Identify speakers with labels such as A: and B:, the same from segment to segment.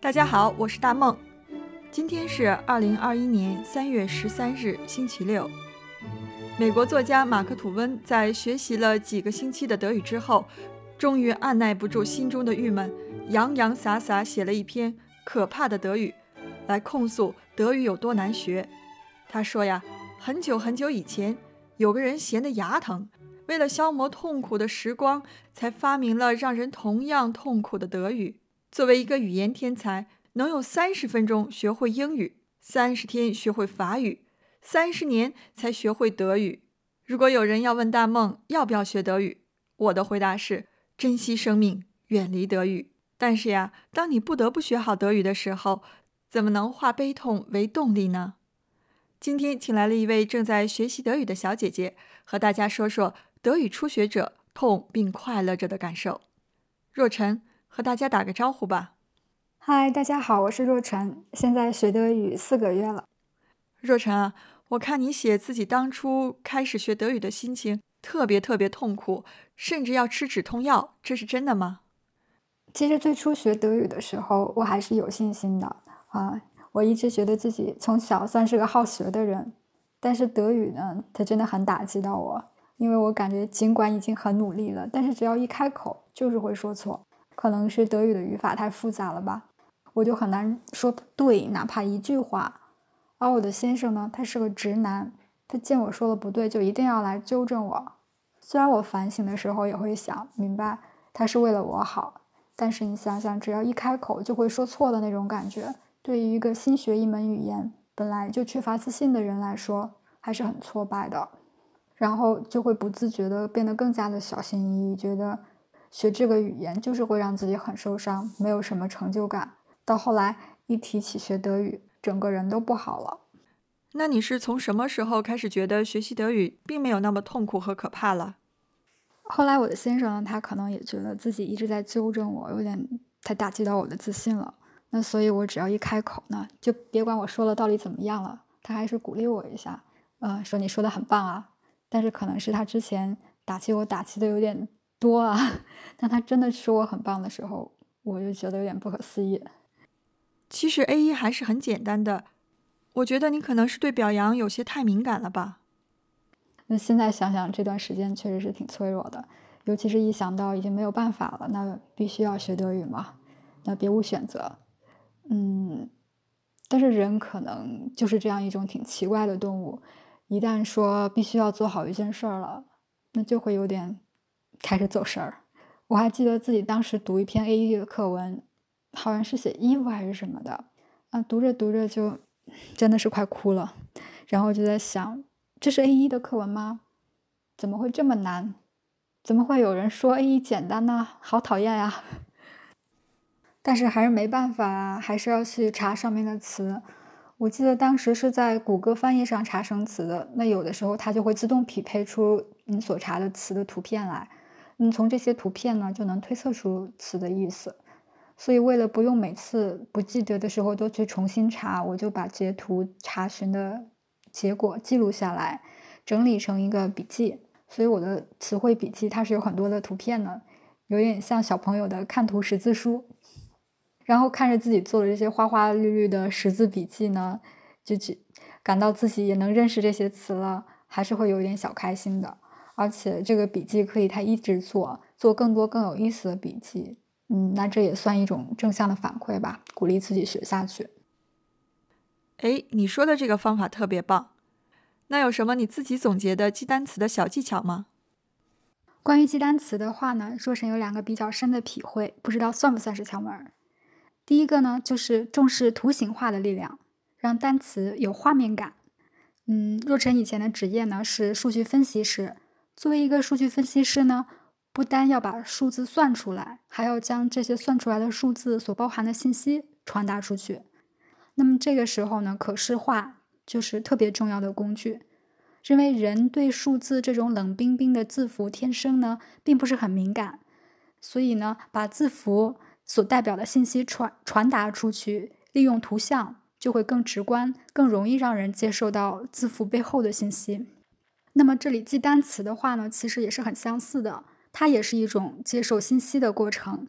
A: 大家好，我是大梦。今天是2021年3月13日，星期六。美国作家马克·吐温在学习了几个星期的德语之后，终于按耐不住心中的郁闷，洋洋洒洒写了一篇可怕的德语，来控诉德语有多难学。他说呀，很久很久以前，有个人闲得牙疼，为了消磨痛苦的时光，才发明了让人同样痛苦的德语。作为一个语言天才，能用30分钟学会英语，30天学会法语，30年才学会德语。如果有人要问大梦要不要学德语，我的回答是珍惜生命，远离德语。但是呀，当你不得不学好德语的时候，怎么能化悲痛为动力呢？今天请来了一位正在学习德语的小姐姐，和大家说说德语初学者痛并快乐着的感受。若晨，和大家打个招呼吧。
B: 嗨，大家好，我是若晨，现在学德语4个月了。
A: 若晨啊，我看你写自己当初开始学德语的心情特别痛苦，甚至要吃止痛药，这是真的吗？
B: 其实最初学德语的时候，我还是有信心的我一直觉得自己从小算是个好学的人，但是德语呢，它真的很打击到我，因为我感觉尽管已经很努力了，但是只要一开口就是会说错，可能是德语的语法太复杂了吧，我就很难说对哪怕一句话。而我的先生呢，他是个直男，他见我说了不对就一定要来纠正我。虽然我反省的时候也会想明白他是为了我好，但是你想想，只要一开口就会说错的那种感觉，对于一个新学一门语言本来就缺乏自信的人来说还是很挫败的，然后就会不自觉地变得更加的小心翼翼，觉得学这个语言就是会让自己很受伤，没有什么成就感。到后来一提起学德语，整个人都不好了。
A: 那你是从什么时候开始觉得学习德语并没有那么痛苦和可怕了？
B: 后来我的先生呢，他可能也觉得自己一直在纠正我，有点太打击到我的自信了。那所以我只要一开口呢，就别管我说了到底怎么样了，他还是鼓励我一下，说你说的很棒啊。但是可能是他之前打击我打击的有点多啊，当他真的说我很棒的时候，我就觉得有点不可思议。
A: 其实 A1 还是很简单的，我觉得你可能是对表扬有些太敏感了吧。
B: 那现在想想这段时间确实是挺脆弱的，尤其是一想到已经没有办法了，那必须要学德语嘛，那别无选择。但是人可能就是这样一种挺奇怪的动物，一旦说必须要做好一件事儿了，那就会有点开始走神儿。我还记得自己当时读一篇 A1 的课文，好像是写衣服还是什么的，读着读着就真的是快哭了，然后就在想，这是 A1 的课文吗？怎么会这么难？怎么会有人说 A1 简单呢？好讨厌呀！但是还是没办法啊，还是要去查上面的词。我记得当时是在谷歌翻译上查生词的，那有的时候它就会自动匹配出你所查的词的图片来，从这些图片呢就能推测出词的意思。所以为了不用每次不记得的时候都去重新查，我就把截图查询的结果记录下来，整理成一个笔记。所以我的词汇笔记它是有很多的图片的，有点像小朋友的看图识字书。然后看着自己做的这些花花绿绿的识字笔记呢，就感到自己也能认识这些词了，还是会有点小开心的。而且这个笔记可以他一直做更多更有意思的笔记，那这也算一种正向的反馈吧，鼓励自己学下去。
A: 哎，你说的这个方法特别棒。那有什么你自己总结的记单词的小技巧吗？
B: 关于记单词的话呢，若晨有2个比较深的体会，不知道算不算是窍门。第一个呢，就是重视图形化的力量，让单词有画面感。若晨以前的职业呢是数据分析师，作为一个数据分析师呢，不单要把数字算出来，还要将这些算出来的数字所包含的信息传达出去。那么这个时候呢，可视化就是特别重要的工具。因为人对数字这种冷冰冰的字符天生呢，并不是很敏感，所以呢，把字符所代表的信息传达出去，利用图像就会更直观，更容易让人接受到字符背后的信息。那么这里记单词的话呢，其实也是很相似的，它也是一种接受信息的过程，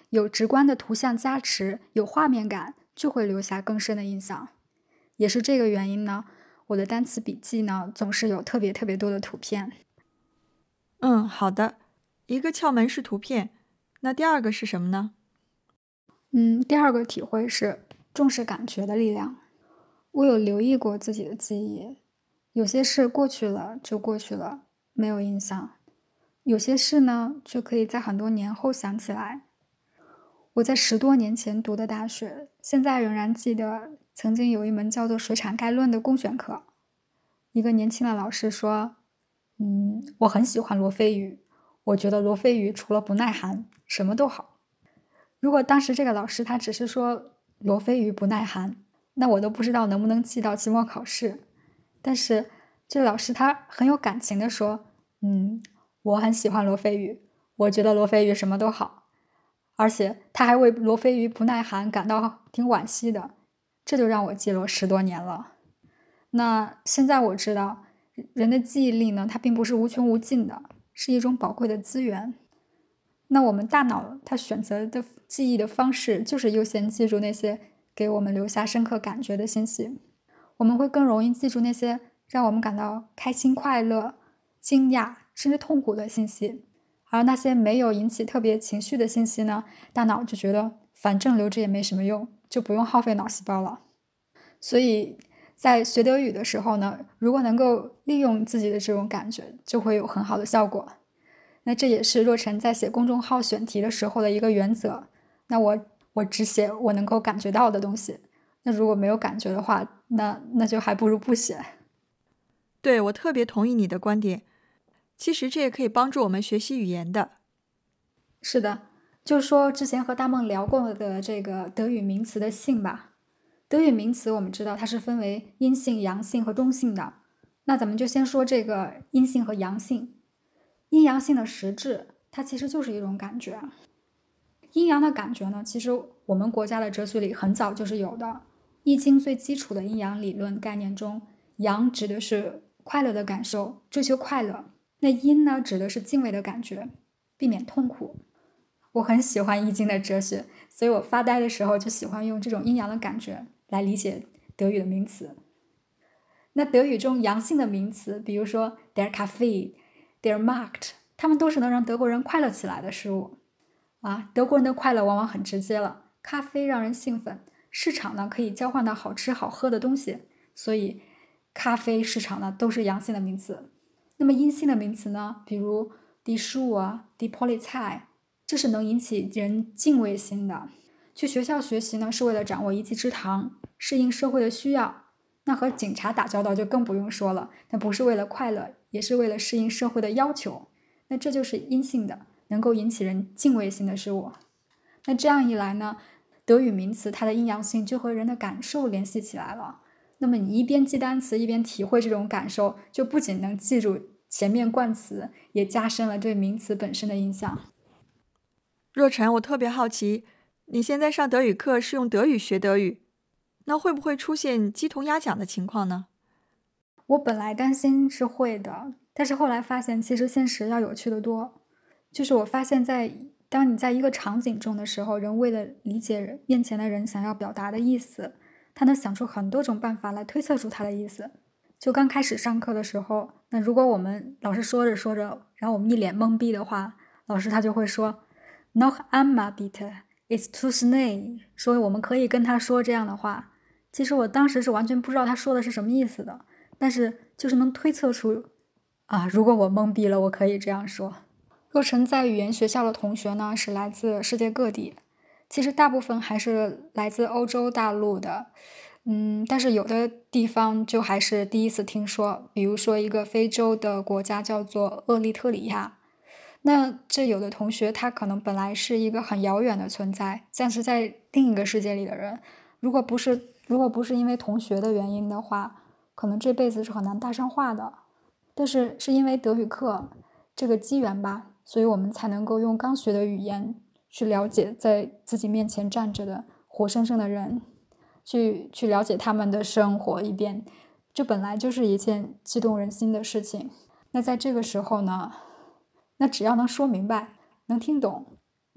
B: 有直观的图像加持，有画面感，就会留下更深的印象。也是这个原因呢，我的单词笔记呢，总是有特别多的图片。
A: 好的。一个窍门是图片，那第二个是什么呢？
B: 第二个体会是重视感觉的力量。我有留意过自己的记忆，有些事过去了就过去了，没有印象。有些事呢，就可以在很多年后想起来。我在10多年前读的大学，现在仍然记得曾经有一门叫做水产概论的公选课。一个年轻的老师说，我很喜欢罗非鱼，我觉得罗非鱼除了不耐寒，什么都好。如果当时这个老师他只是说罗非鱼不耐寒，那我都不知道能不能记到期末考试。但是这老师他很有感情的说，我很喜欢罗非鱼，我觉得罗非鱼什么都好，而且他还为罗非鱼不耐寒感到挺惋惜的，这就让我记了10多年了。那现在我知道，人的记忆力呢，它并不是无穷无尽的，是一种宝贵的资源。那我们大脑它选择的记忆的方式，就是优先记住那些给我们留下深刻感觉的信息。我们会更容易记住那些让我们感到开心、快乐、惊讶甚至痛苦的信息，而那些没有引起特别情绪的信息呢，大脑就觉得反正留着也没什么用，就不用耗费脑细胞了。所以在学德语的时候呢，如果能够利用自己的这种感觉，就会有很好的效果。那这也是若晨在写公众号选题的时候的一个原则。那我只写我能够感觉到的东西。那如果没有感觉的话，那就还不如不写。
A: 对，我特别同意你的观点。其实这也可以帮助我们学习语言的。
B: 是的，就说之前和大梦聊过的这个德语名词的性吧。德语名词我们知道它是分为阴性、阳性和中性的。那咱们就先说这个阴性和阳性。阴阳性的实质，它其实就是一种感觉。阴阳的感觉呢，其实我们国家的哲学里很早就是有的。《易经》最基础的阴阳理论概念中，阳指的是快乐的感受，追求快乐；那阴呢，指的是敬畏的感觉，避免痛苦。我很喜欢《易经》的哲学，所以我发呆的时候就喜欢用这种阴阳的感觉来理解德语的名词。那德语中阳性的名词，比如说 der Kaffee、der Markt， 它们都是能让德国人快乐起来的事物。德国人的快乐往往很直接了，咖啡让人兴奋，市场呢可以交换到好吃好喝的东西，所以咖啡市场呢都是阳性的名词。那么阴性的名词呢，比如 die Schuhe、die Polizei， 这是能引起人敬畏心的。去学校学习呢，是为了掌握一技之长，适应社会的需要。那和警察打交道就更不用说了，那不是为了快乐，也是为了适应社会的要求。那这就是阴性的，能够引起人敬畏心的事物。那这样一来呢，德语名词它的阴阳性就和人的感受联系起来了。那么你一边记单词，一边体会这种感受，就不仅能记住前面冠词，也加深了对名词本身的印象。
A: 若晨，我特别好奇，你现在上德语课是用德语学德语，那会不会出现鸡同鸭讲的情况呢？
B: 我本来担心是会的，但是后来发现其实现实要有趣得多。就是我发现当你在一个场景中的时候，人为了理解面前的人想要表达的意思，他能想出很多种办法来推测出他的意思。就刚开始上课的时候，那如果我们老师说着说着，然后我们一脸懵逼的话，老师他就会说 Noch einmal bitte, it's too schnell， 说我们可以跟他说这样的话。其实我当时是完全不知道他说的是什么意思的，但是就是能推测出如果我懵逼了，我可以这样说。若晨在语言学校的同学呢，是来自世界各地，其实大部分还是来自欧洲大陆的，但是有的地方就还是第一次听说，比如说一个非洲的国家叫做厄立特里亚。那这有的同学他可能本来是一个很遥远的存在，像是在另一个世界里的人，如果不是因为同学的原因的话，可能这辈子是很难搭上话的。但是因为德语课这个机缘吧，所以我们才能够用刚学的语言去了解在自己面前站着的活生生的人，去了解他们的生活一遍，这本来就是一件激动人心的事情。那在这个时候呢，那只要能说明白，能听懂，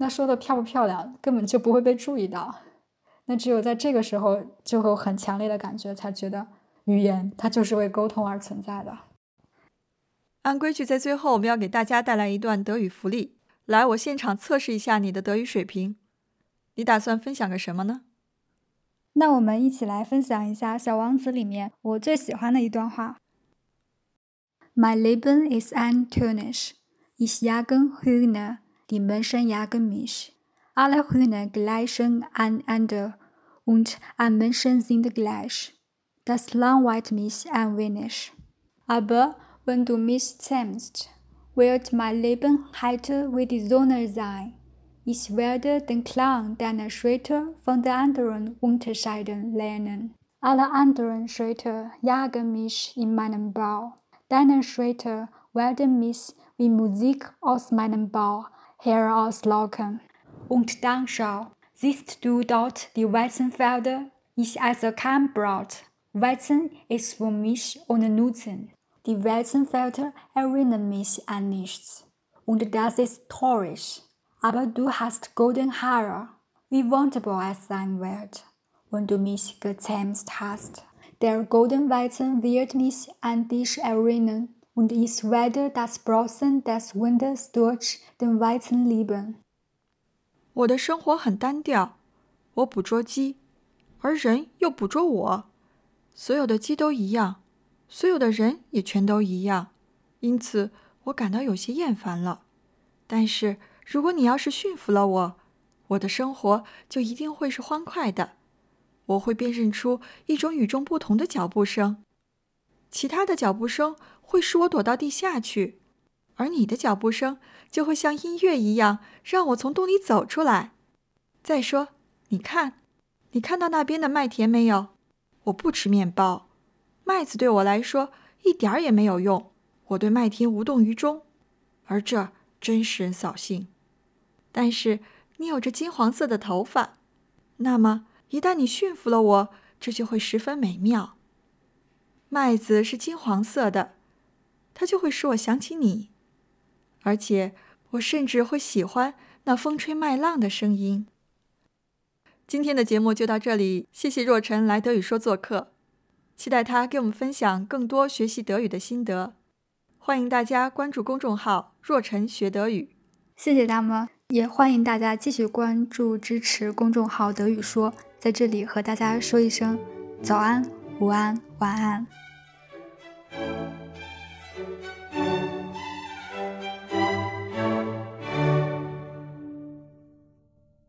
B: 那说的漂不漂亮根本就不会被注意到。那只有在这个时候就会有很强烈的感觉，才觉得语言它就是为沟通而存在的。
A: 按规矩，在最后我们要给大家带来一段德语福利。来，我现场测试一下你的德语水平。你打算分享个什么呢？
B: 那我们一起来分享一下《小王子》里面我最喜欢的一段话。Mein Leben ist ein Tönisch. Ich jage Hühner, die Menschen jagen mich. Alle Hühner gleichen einander und alle Menschen sind gleich. Das langweilt mich ein wenig. Aber wenn du mich zähmst, wird mein Leben heiter wie die Sonne sein. Ich werde den Klang deiner Schritte von den anderen unterscheiden lernen. Alle anderen Schritte jagen mich in meinen Bauch. Deine Schritte werden mich wie Musik aus meinem Bauch herauslocken. Und dann schau, siehst du dort die Weizenfelder? Ich esse kein Brot. Weizen ist für mich ohne Nutzen. Die Weizenfelder erinnern mich an nichts. Und das ist traurig. Aber du hast goldene Haare. Wie wunderbar es sein wird, wenn du mich gezähmt hast. Der Goldenweizen wird mich an dich erinnern, und ich werde das Brausen des Windes durch den Weizen lieben.
A: 我的生活很单调，我捕捉鸡，而人又捕捉我。所有的鸡都一样，所有的人也全都一样，因此我感到有些厌烦了。但是如果你要是驯服了我，我的生活就一定会是欢快的。我会辨认出一种与众不同的脚步声，其他的脚步声会使我躲到地下去，而你的脚步声就会像音乐一样让我从洞里走出来。再说，你看到那边的麦田没有？我不吃面包，麦子对我来说一点儿也没有用，我对麦田无动于衷，而这真使人扫兴。但是你有着金黄色的头发，那么一旦你驯服了我，这就会十分美妙。麦子是金黄色的，它就会使我想起你，而且我甚至会喜欢那风吹麦浪的声音。今天的节目就到这里，谢谢若晨来德语说做客，期待他给我们分享更多学习德语的心得。欢迎大家关注公众号若晨学德语。
B: 谢谢他们，也欢迎大家继续关注支持公众号德语说，在这里和大家说一声早安、午安、晚安。